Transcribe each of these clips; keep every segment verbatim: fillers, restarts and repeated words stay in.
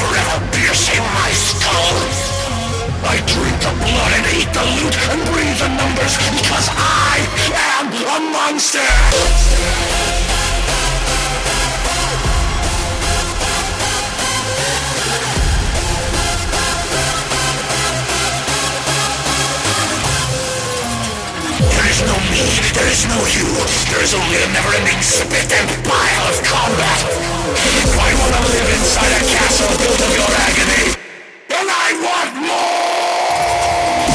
forever piercing my skull. I drink the blood and eat the loot and breathe the numbers because I am a monster! There is no me, there is no you. There is only a never-ending spit and pile of combat. I want to live inside a castle built of your agony. And I want more!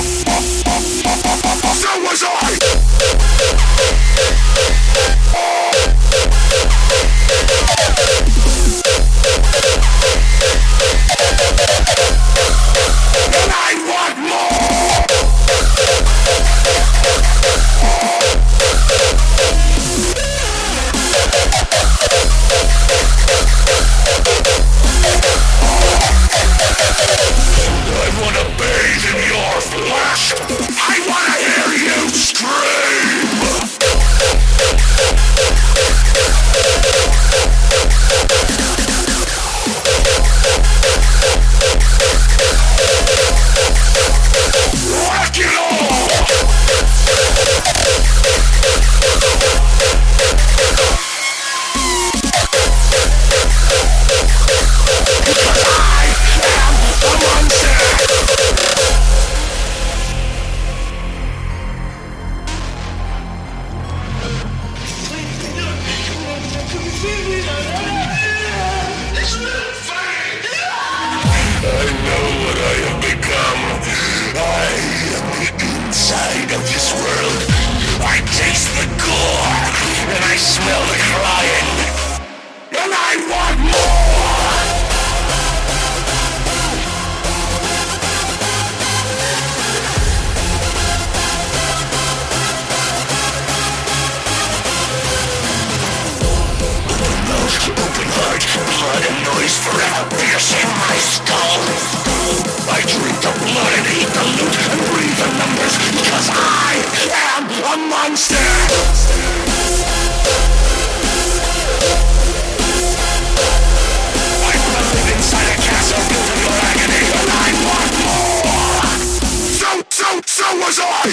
So was I! And I want more! I wanna bathe in your flesh! I wanna hear you scream! Rock it all! Because I am a monster! I know what I have become. I am the inside of this world. I taste the gore, and I smell the crying. And I want more! Open mouth, open heart, blood and noise forever piercing my skull. I drink the blood and eat the loot and breathe the numbers because I am a monster! I wanna live inside a castle built of your agony and I want more! So, so, so was I!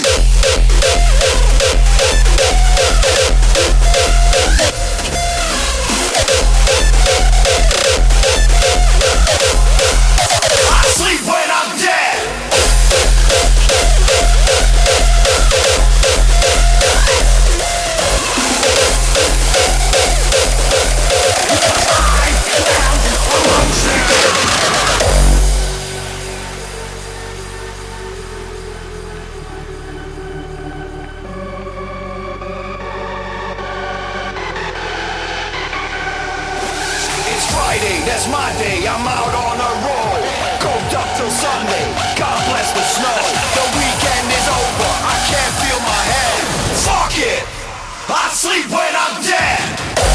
I sleep when I'm dead! That's my day, I'm out on a roll. Coked up till Sunday, God bless the snow. The weekend is over, I can't feel my head. Fuck it, I sleep when I'm dead.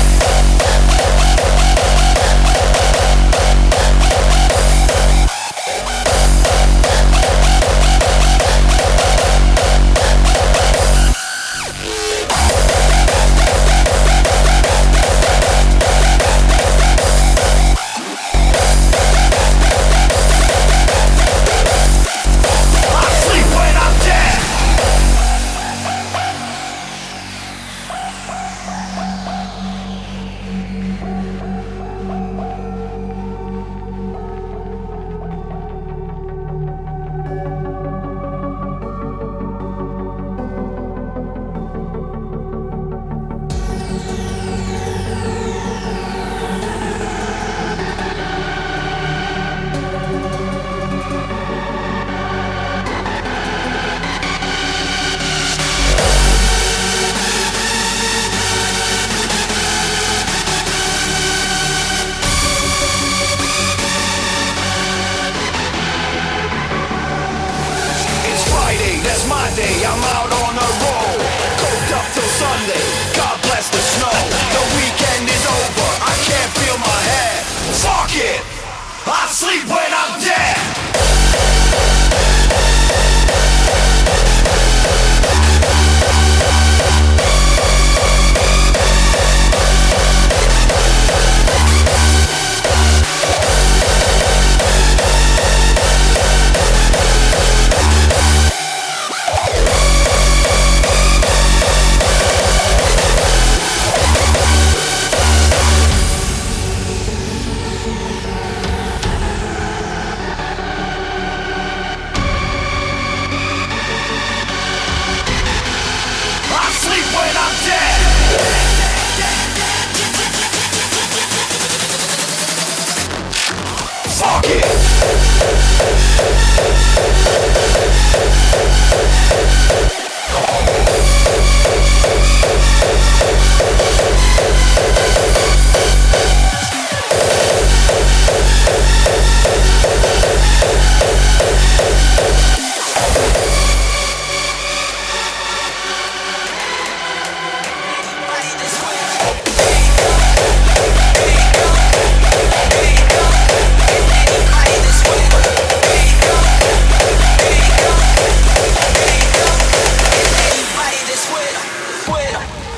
I'm out on a roll, coked up till Sunday, God bless the snow. The weekend is over, I can't feel my head. Fuck it, I sleep when I'm dead.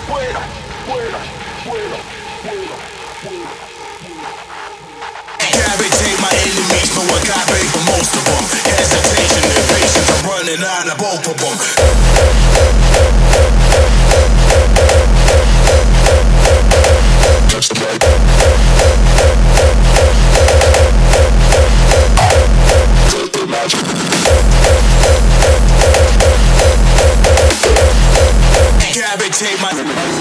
fuera, fuera, fuera, fuera, fuera. Cavitate my enemies, no I got bait for most of them. Hesitation and patience, I'm running out of both of them. Touch the mic. Cavitate my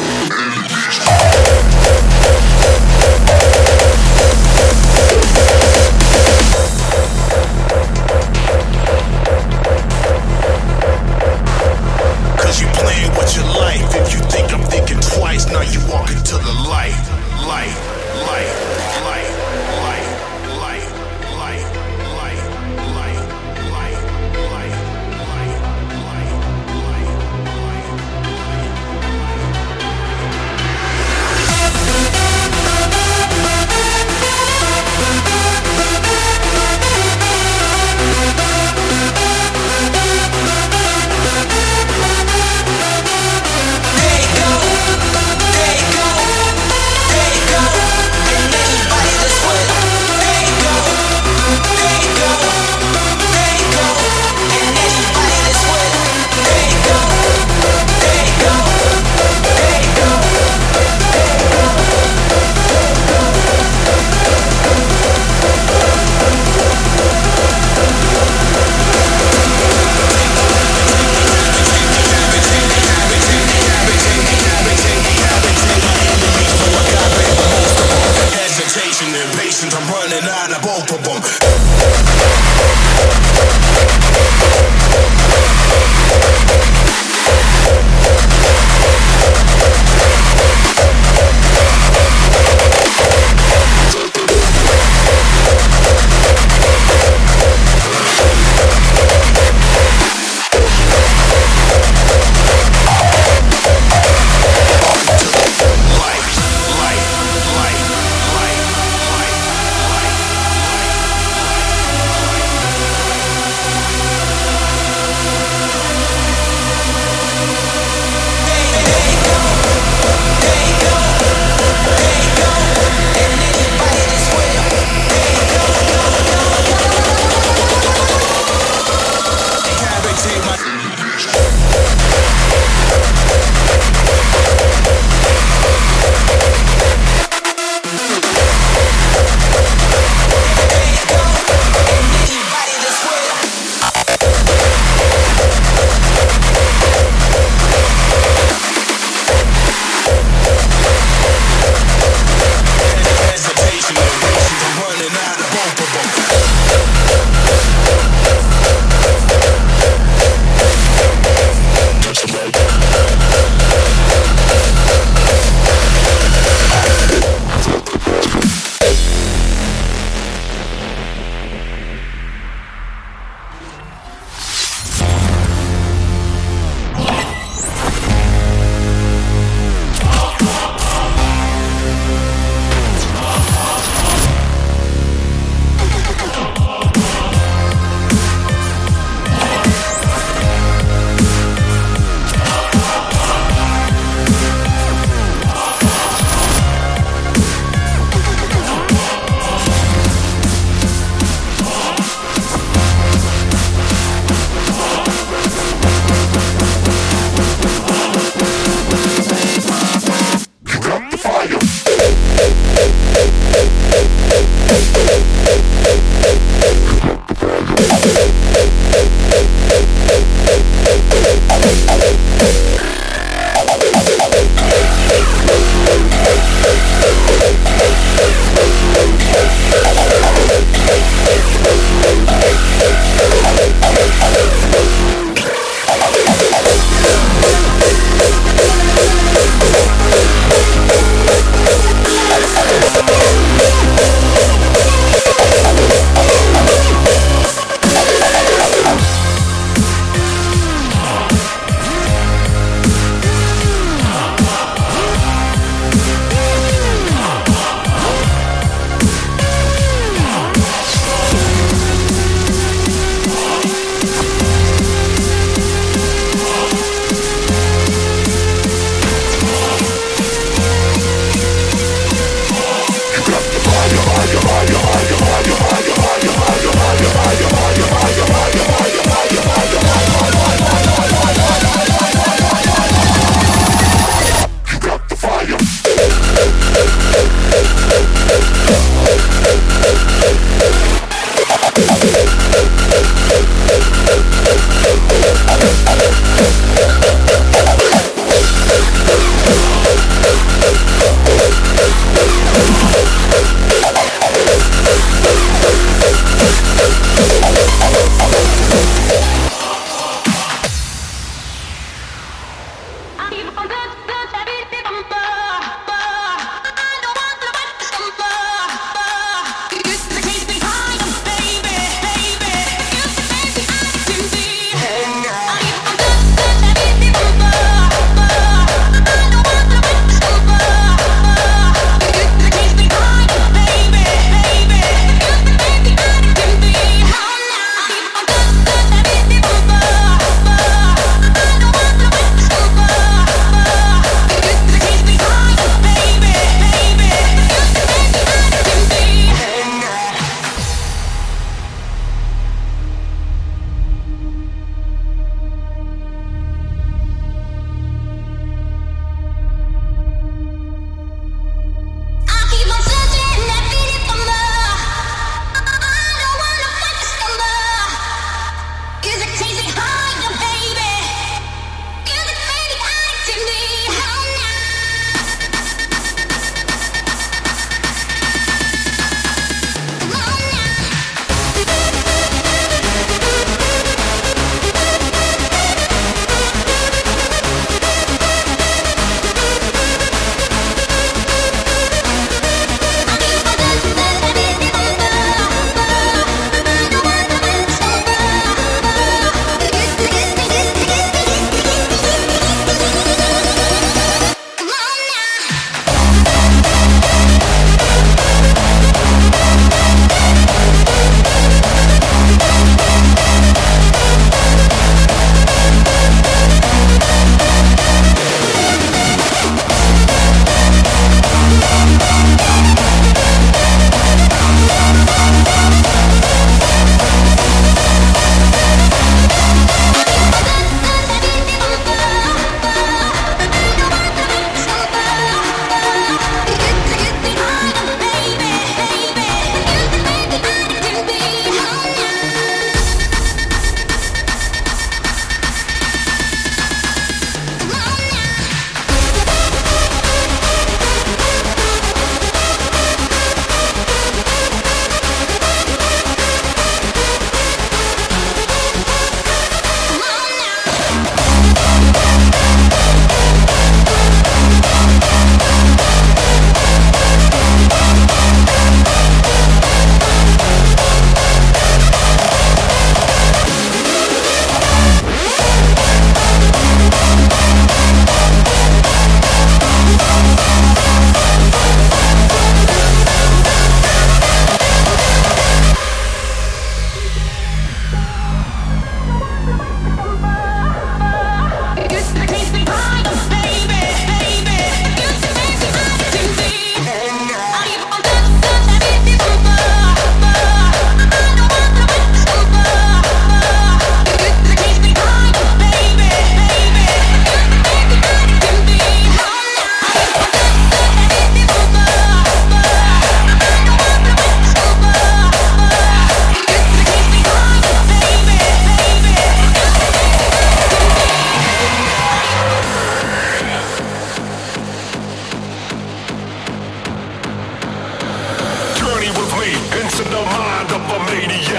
Cause you playing with your life. If you think I'm thinking twice, now you walk into the light. Light, light, light, light, light, light, light, light, light, light, light, light, light, light, light.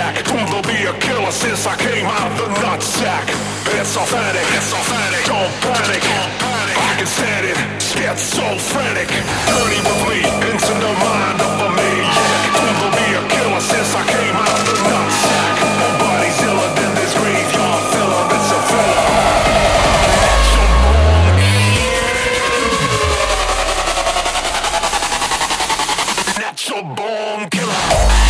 back. Proven to be a killer since I came out the nutsack. It's authentic, it's authentic. Don't panic, don't panic. I can stand it, schizophrenic. Journey with me into the mind of a maniac. Proven to be a killer since I came out the nutsack. Nobody's iller than this graveyard filler. It's a filler. Natural born killer.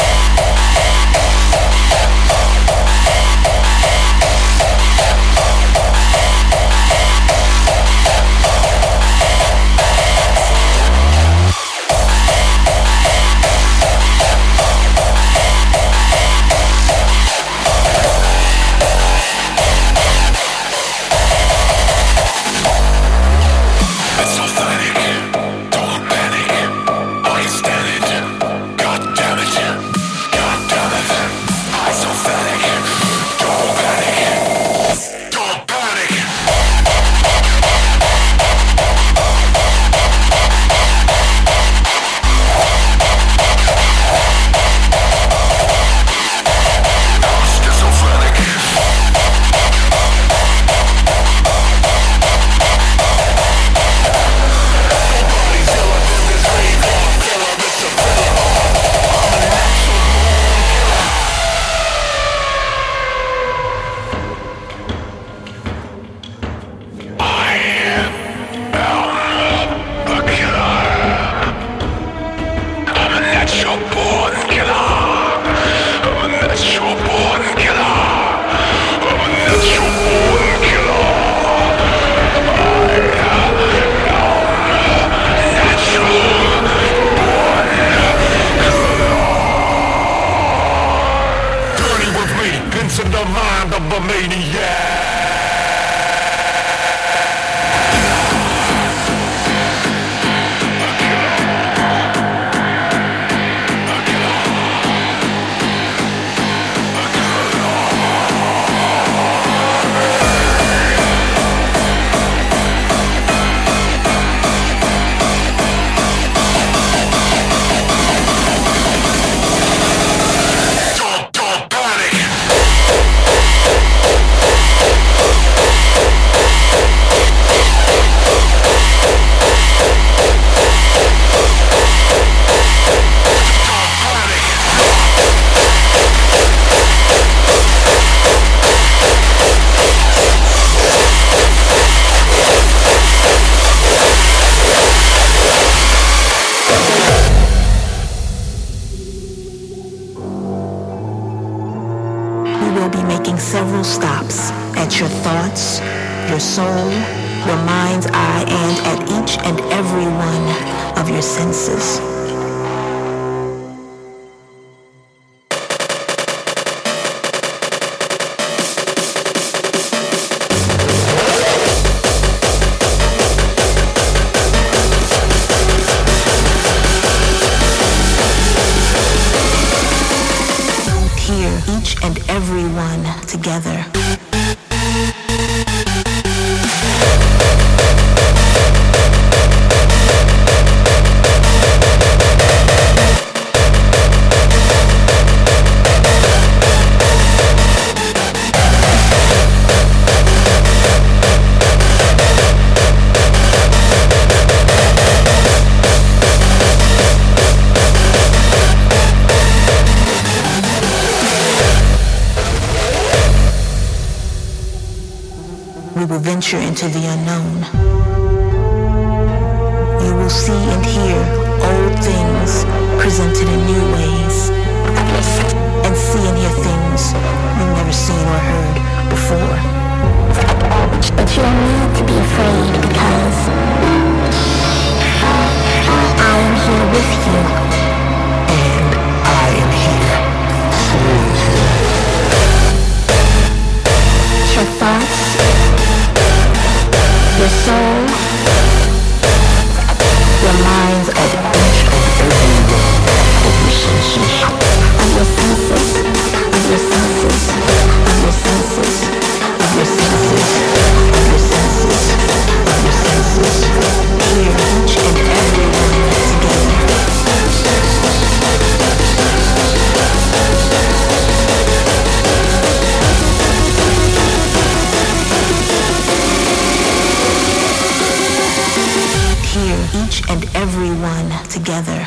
Several stops at your thoughts, your soul, your mind's eye, and at each and every one of your senses. Each and every one together. We will venture into the unknown. You will see and hear old things presented in new ways, and see and hear things you've never seen or heard before. But you don't need to be afraid because I am here with you. And I am here for you. Your thoughts, your soul, your each and every one together.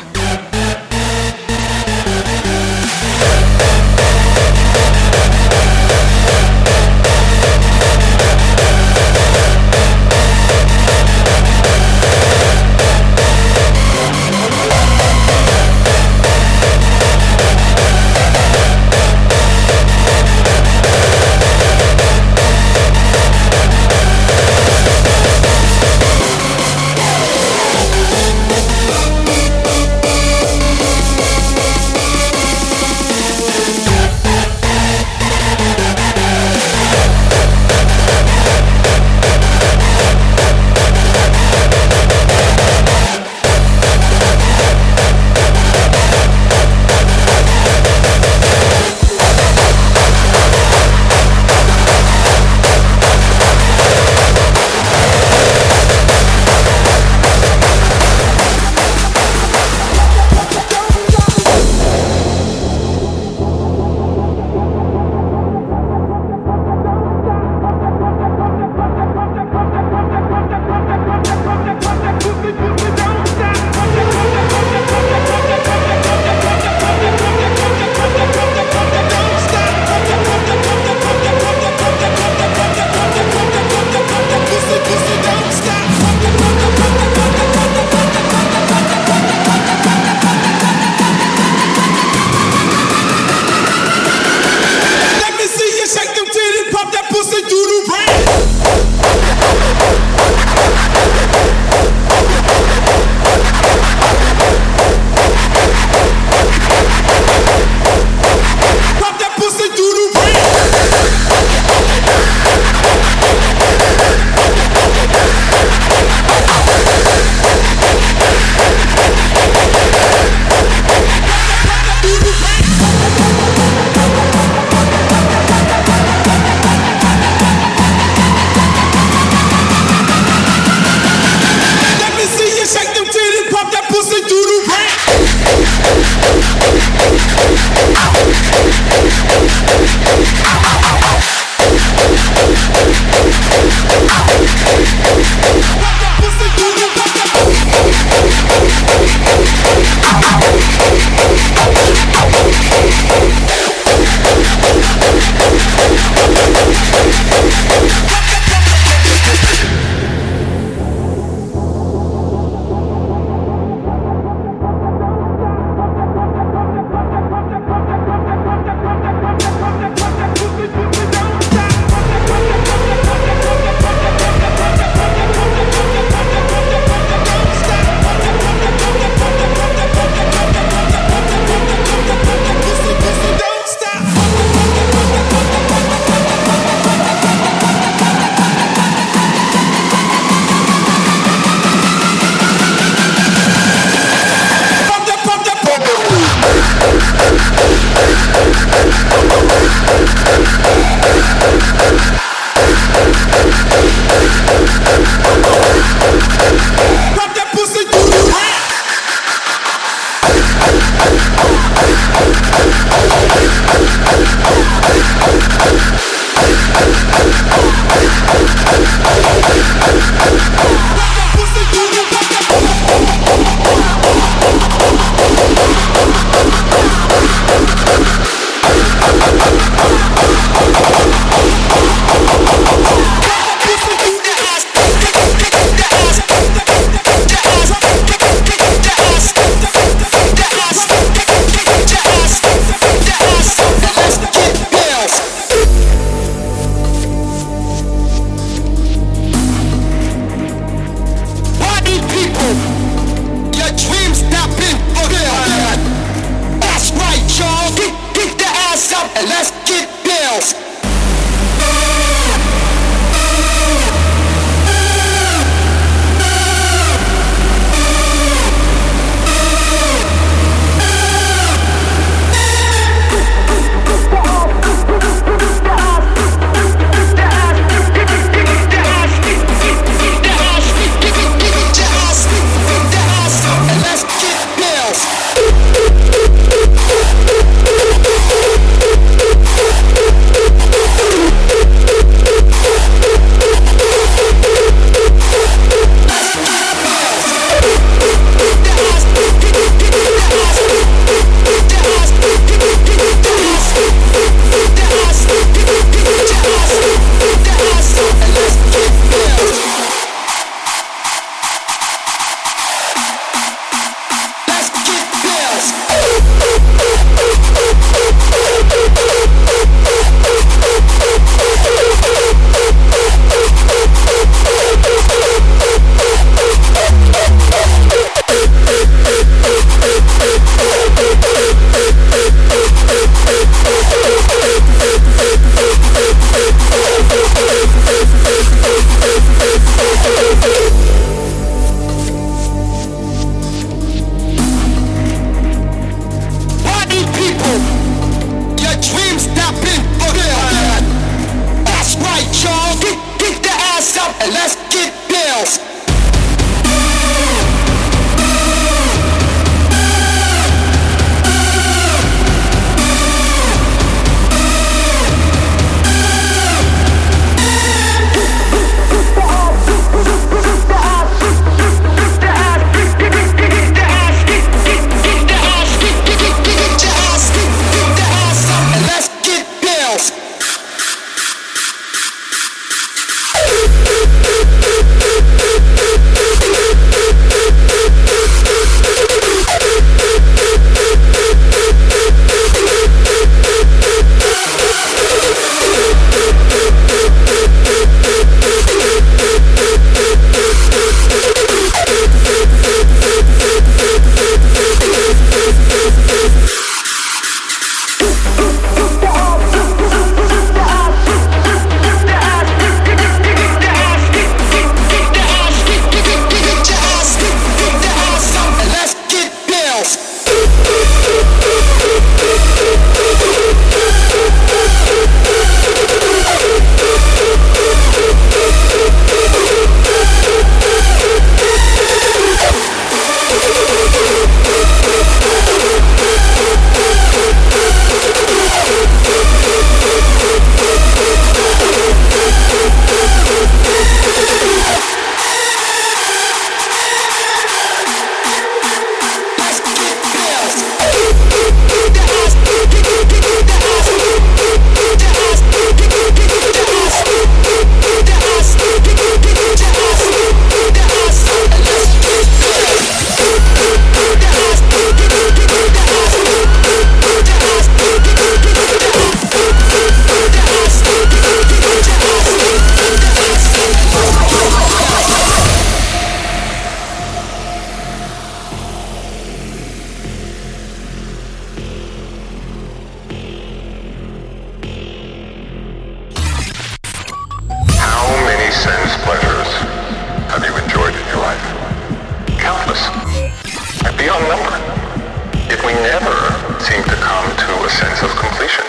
countless, and beyond number, yet we never seem to come to a sense of completion.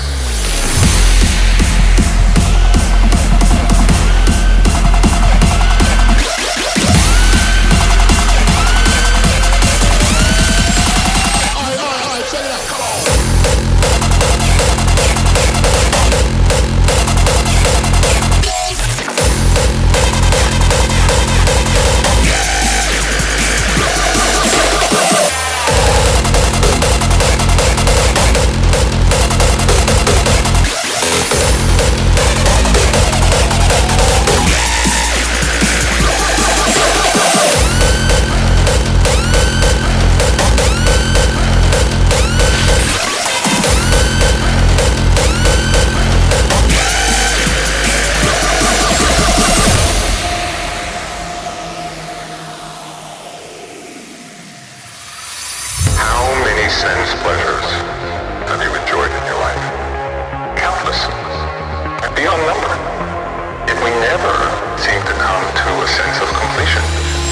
Sense pleasures have you enjoyed in your life? Countless, and beyond number, yet we never seem to come to a sense of completion.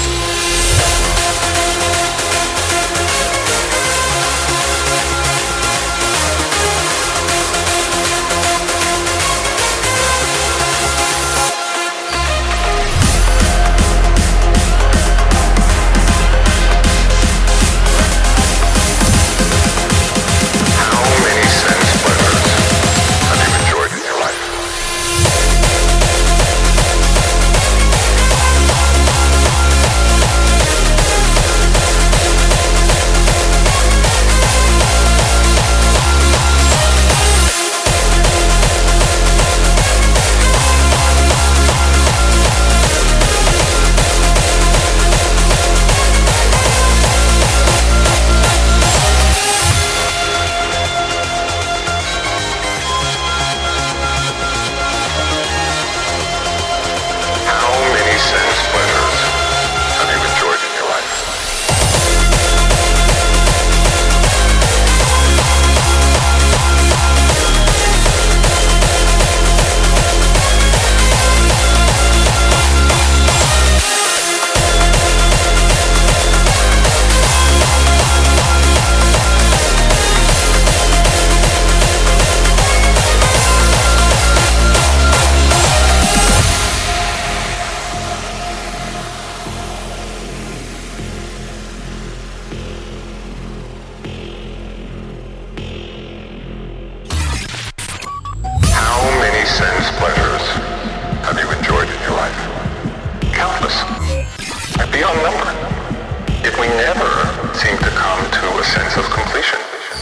Sense pleasures have you enjoyed in your life? Countless, and beyond number, yet we never seem to come to a sense of completion.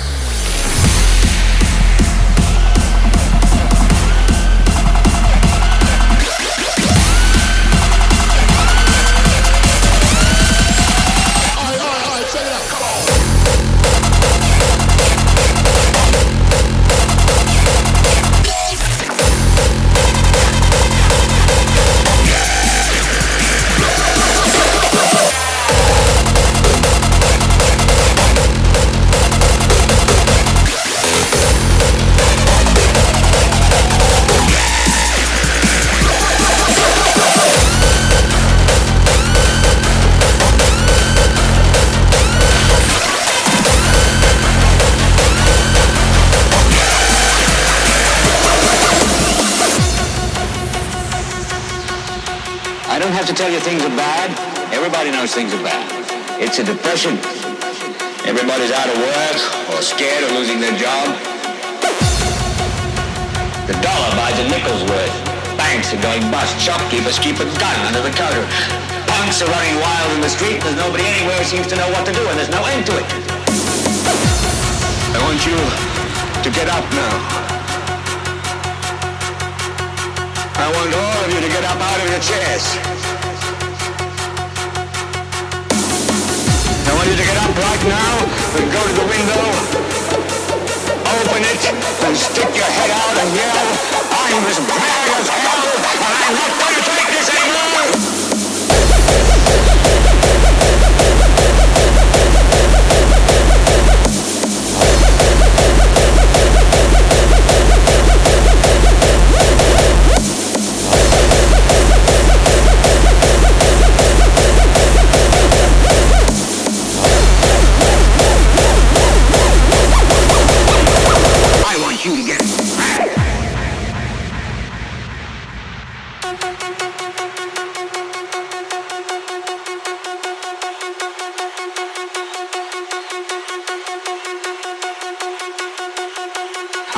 I don't have to tell you things are bad. Everybody knows things are bad. It's a depression. Everybody's out of work or scared of losing their job. The dollar buys a nickel's worth. Banks are going bust. Shopkeepers keep a gun under the counter. Punks are running wild in the street. There's nobody anywhere who seems to know what to do, and there's no end to it. I want you to get up now. I want all of you to get up out of your chairs. I want you to get up right now and go to the window, open it, and stick your head out and yell, I'm as mad as hell, and I'm not going to take this anymore!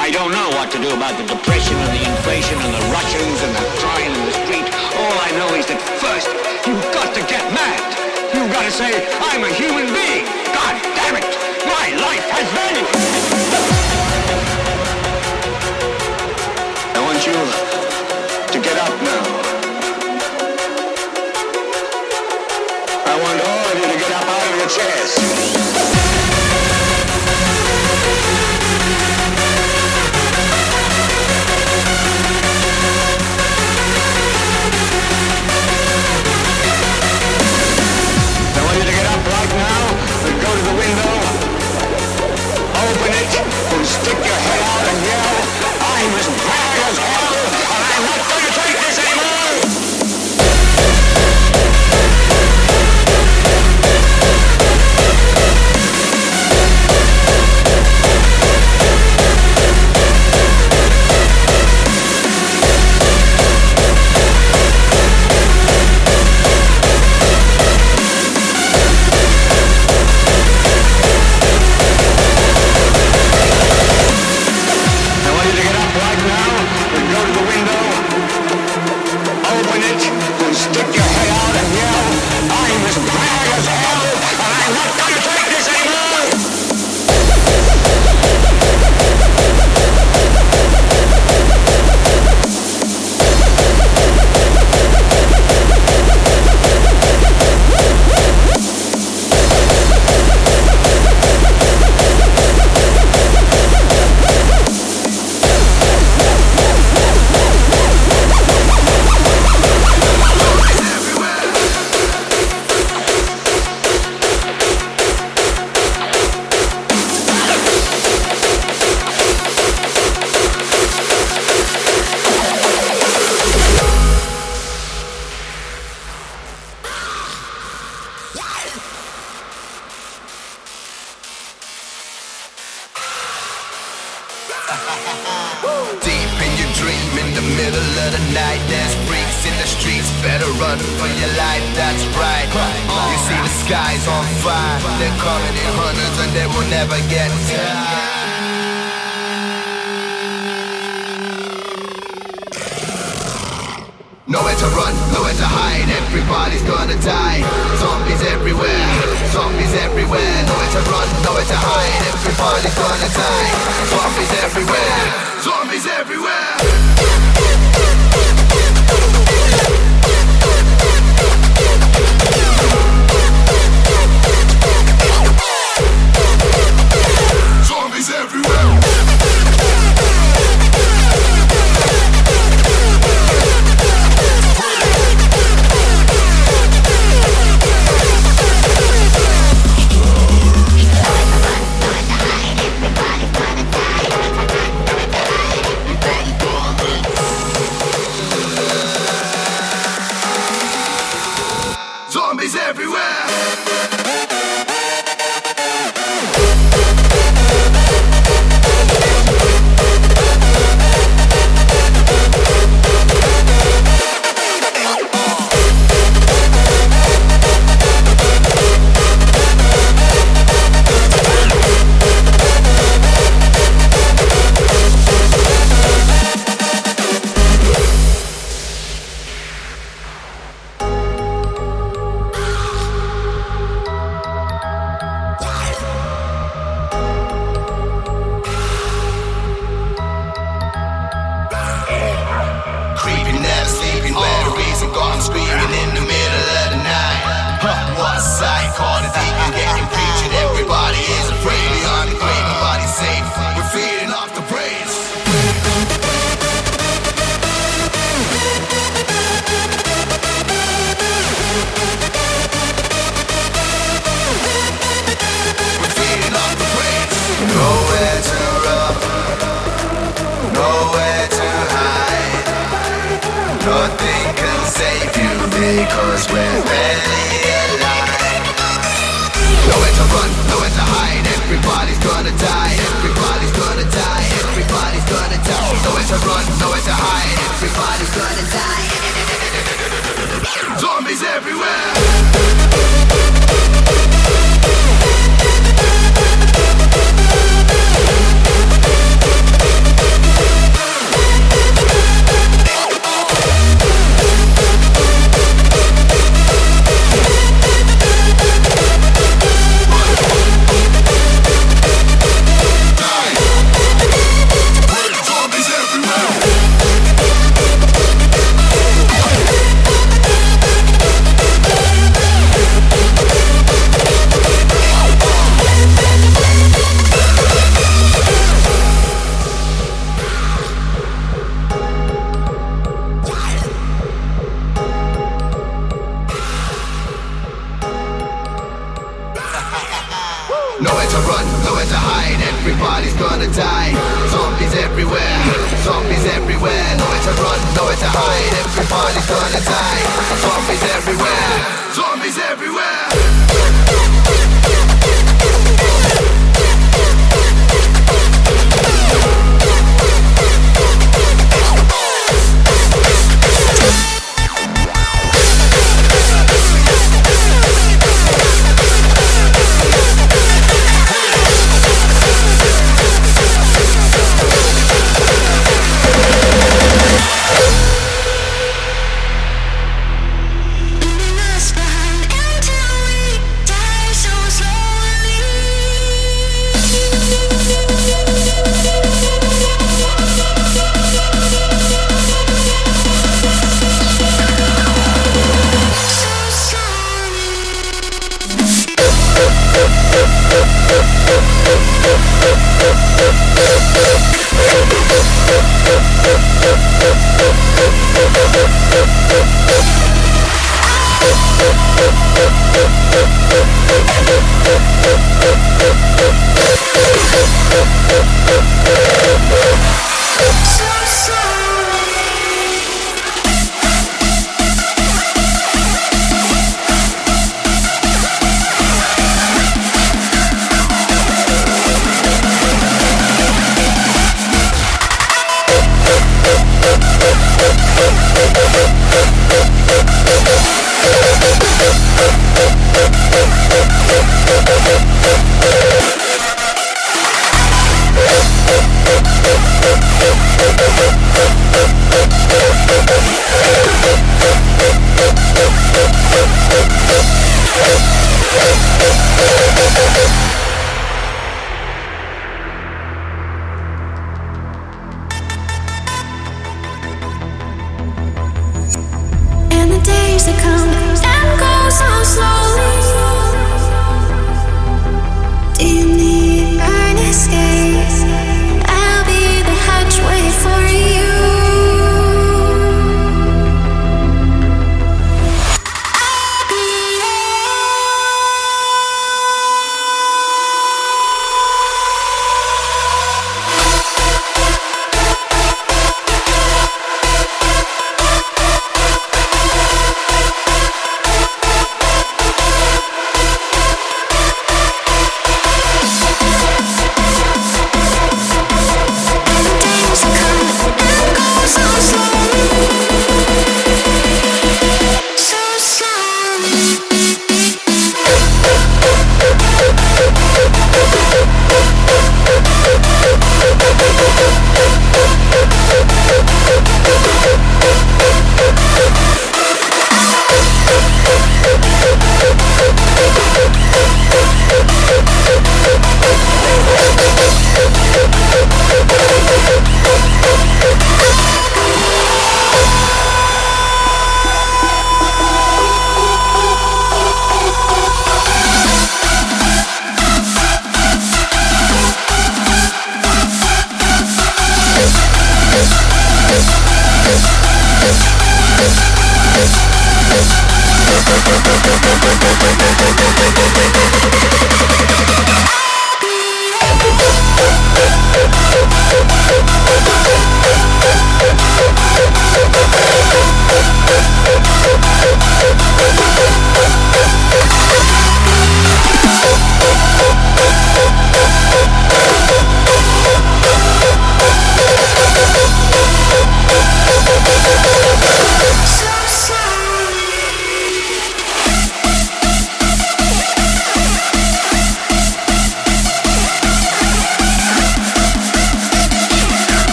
I don't know what to do about the depression and the inflation and the Russians and the crying in the street. All I know is that first, you've got to get mad. You've got to say, I'm a human being. God damn it, my life has value. I want you to get up now. I want all of you to get up out of your chairs. Go to the window, open it, and stick your head out and yell, I'm as mad as hell, and I'm not going to take this anymore! Because we're barely alive. Nowhere to run, nowhere to hide. Everybody's gonna die. Everybody's gonna die. Everybody's gonna die. Nowhere to run, nowhere to hide. Everybody's gonna die. Zombies everywhere. nowhere to run, nowhere to hide. Everybody's gonna die. Zombies everywhere, zombies everywhere. Nowhere to run, nowhere to hide. Everybody's gonna die. Zombies everywhere, zombies everywhere.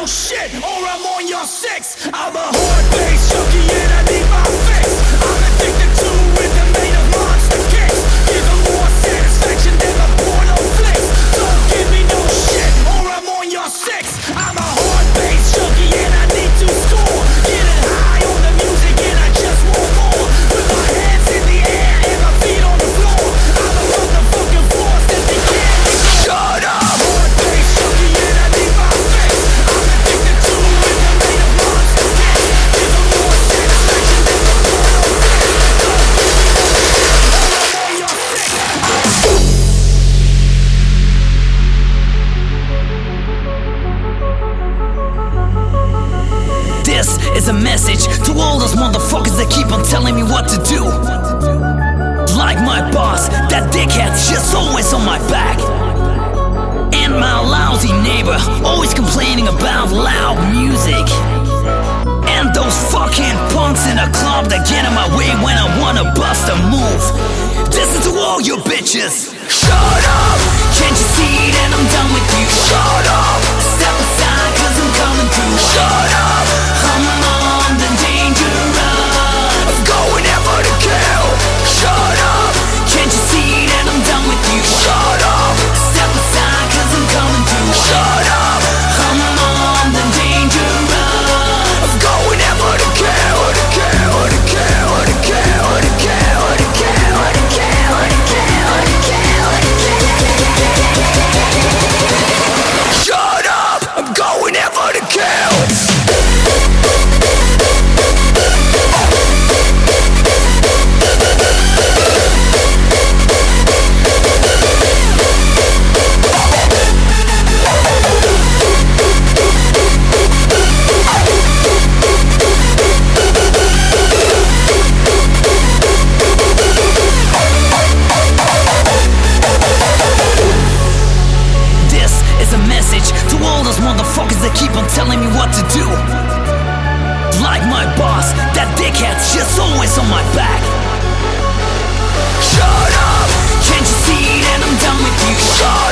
shit, or I'm on your six. I'm a hard-based junkie and I need my fix. I'm addicted to rhythm made of monster kicks. Give them more satisfaction than the porno flicks. Don't give me no shit, or I'm on your six. I'm a hard-based junkie and I need to score. Getting high on the music and I just want more. With my hands in the air and my feet on the floor. I'm a motherfucking force that they can't ignore. Shut up! Hard-based junkie and I need my fix. I'm addicted to rhythm made of monster kicks. Give them more satisfaction than the porno flicks. Don't give me no shit, or I'm on your six. This is a message to all those motherfuckers that keep on telling me what to do. Like my boss, that dickhead's just always on my back. And my lousy neighbor, always complaining about loud music. And those fucking punks in a club that get in my way when I wanna bust a move. This is to all you bitches. Shut up! Can't you see that I'm done with you? Shut up! Step aside cause I'm coming through. Shut up! I'm on the danger run. I'm going out for the kill. Shut up! Can't you see that I'm done with you? Shut up! Step aside cause I'm coming through. Shut up! I'm on the danger run. I'm going out for the kill. The kill, the kill, the kill, the kill, the kill, the kill, the kill, the kill, the kill. Shut up! I'm going out for the kill. To all those motherfuckers that keep on telling me what to do. Like my boss, that dickhead's just always on my back. Shut up! Can't you see that I'm done with you? Shut